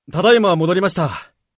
ただいま戻りました。